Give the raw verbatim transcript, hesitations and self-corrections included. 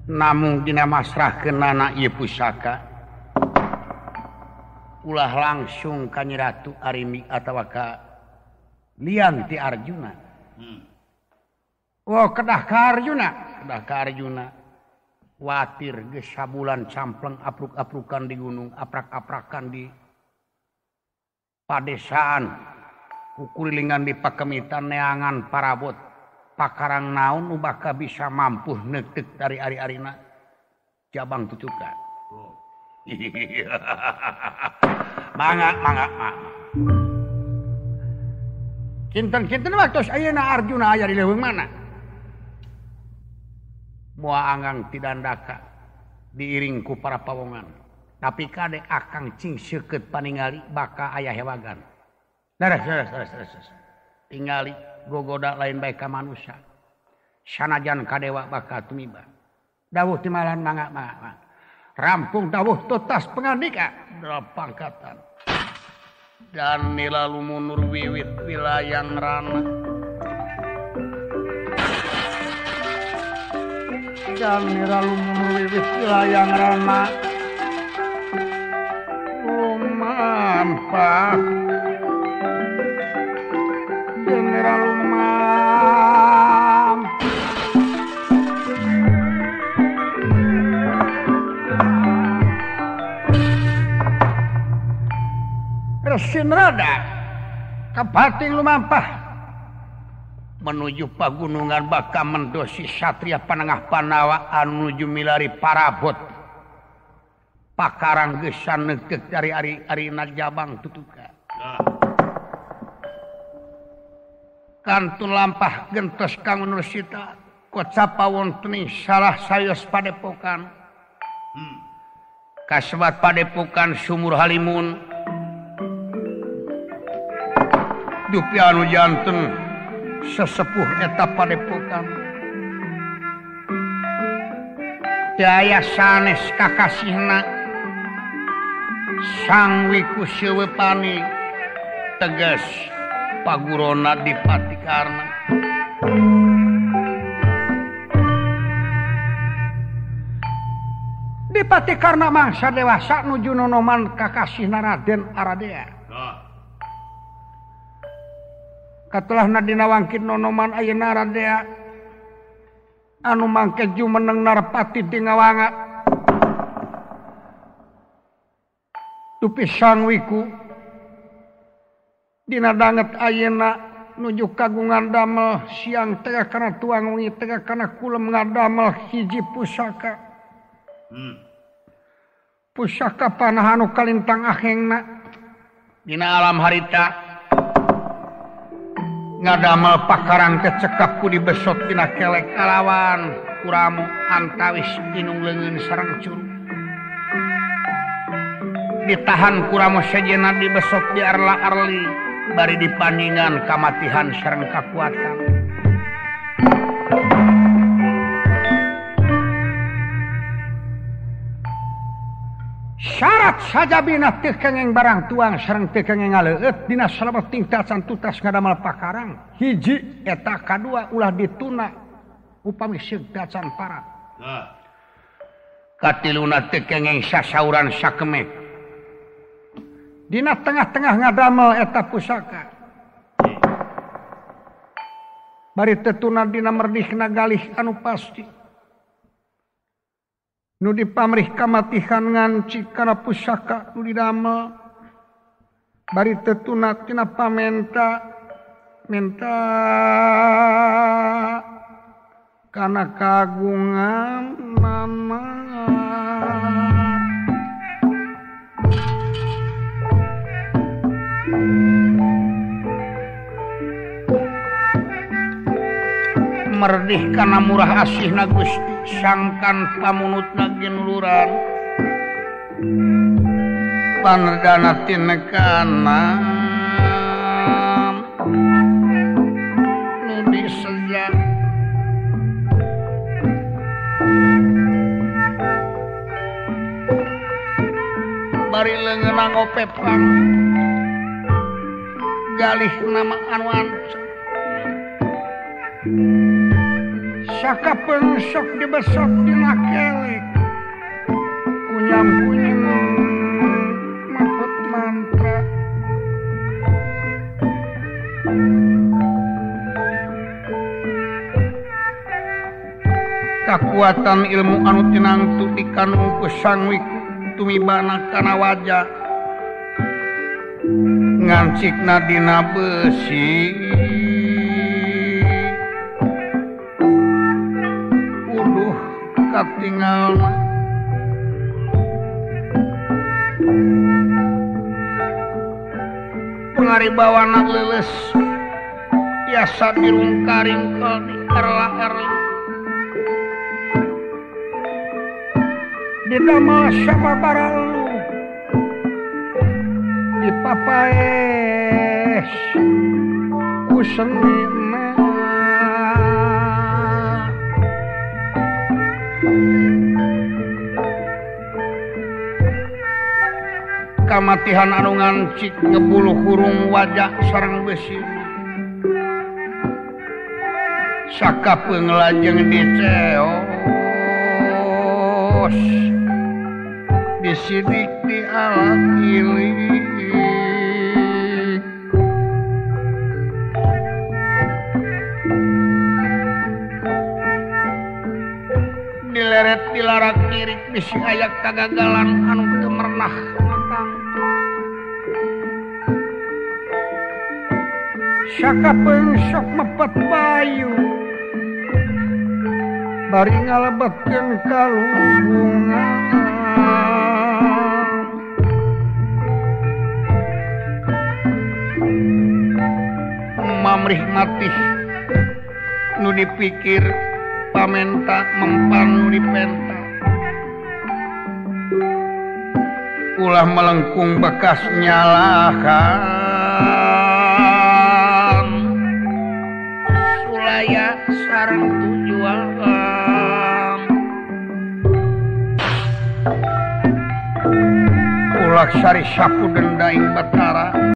namun dina masrahkeun anak ieu pusaka ulah langsung ka Nyi Ratu Arimi atawa ka lian ti Arjuna. Hmm. Oh kedah ka Arjuna, kedah ka Arjuna. Watir geus sabulan campleng apruk-aprukan di gunung, aprak-aprakan di padesaan, kukurilingan di pakemitan neangan parabot, pakarang naon nu baka bisa mampu neuteuk dari ari-arina jabang tutukan. Oh. mangga mangga mangga. Kinten-kinten waktos ayeuna Arjuna aya di leuweung mana? Moal anggang tidandaka diiring ku para pawongan. Tapi kade akang cing seukeut paningali baka aya hewagan. Daras daras daras daras. Tingali gogoda lain bae ka manusia. Sanajan kadewa baka tumiba. Dawuh timalan mangga mangga. Rampung dawuh totas pangandika dalam pangkatan. Dan nilalu munur wiwit wilayang rana. Dan nilalu munur wiwit wilayang rana. Lumampah. Dan nilalu mam. Resin rada kapating lumampah menuju pagunungan baka mendosi satria panengah Panawa anu nuju milari parabot pakarang gesan neuteuk dari ari-arina jabang tutuka. Kantun lampah gentos kang Nursita kocapa wonten salah sayos padepokan. Hmm. Kasebat padepokan Sumur Halimun. Dupi anu janten sesepuh eta padepokan. Daya sanes kakasihna sang wiku sewepani tegas pagurona di Patikarna. Di Patikarna mangsa dewasa nuju nonoman kakasihna Raden Aradea. Katulah nadina wangkit nonoman ayeuna Aradea anu mangke jumeneng Narpati di ngawanga dupi sang wiku dina danget ayeuna nuju kagungan damel siang tengah kana tuang wengi tengah kana kulem ngadamel hiji pusaka. Hmm. Pusaka panah anu kalintang ahengna dina alam harita ngadamel pakarang kecekap ku dibesot dina kelek kalawan kuramu antawis tinung leungeun sareng curug. Ditahan kuramu sejenna dibesot di arla-arli bari dipandingan kamatihan sareng kakuatan. Syarat saja bina teu kengeng barang tuang sareng teu kengeng ngaleut dina salabeting tacan tutas ngadamel pakarang. Hiji eta kadua ulah dituna upami seug tacan parat. Nah. Katiluna teu kengeng sasauran sakemeh. Dina tengah-tengah ngadamel eta pusaka. Bari teu tuna dina merdihna galih anu pasti. Nu dipamrih kamatihan nganci kana pusaka nu didamel bari teu tuna tina pamenta menta kana kagungan mama merdih kana murah asihna Gusti sangkan pamunutna ginuluran panerdana tinekanan nu disejak bari leungeunna ngopepang galih nama anu ancep sakapeung sok dibesot dina nyampunyin maksud mantra kekuatan ilmu anu tinangtu dikandung ku sang wiku tumibana kana wajah ngancikna dina besi uduh katingalna pangaribawana leuleus tiasa dirungkaringkel di erla-erli didamel sababaraha lu dipapaes ku senina kamatihan anu ngancik ngebuluh hurung wajah sareng besi sakapeung lajeng diceos disidik di alat ilik dileret dilarak kirik bisi ayak kagagalan anu teu merenah matang sakapeung sok mepet bayu bari ngalebetkeun kalubungan mamrih matih nu dipikir pamenta mempan nu dipenta ulah melengkung bekas nyalakan sulaya sareng tujuan ulah sari sapu dendaing batara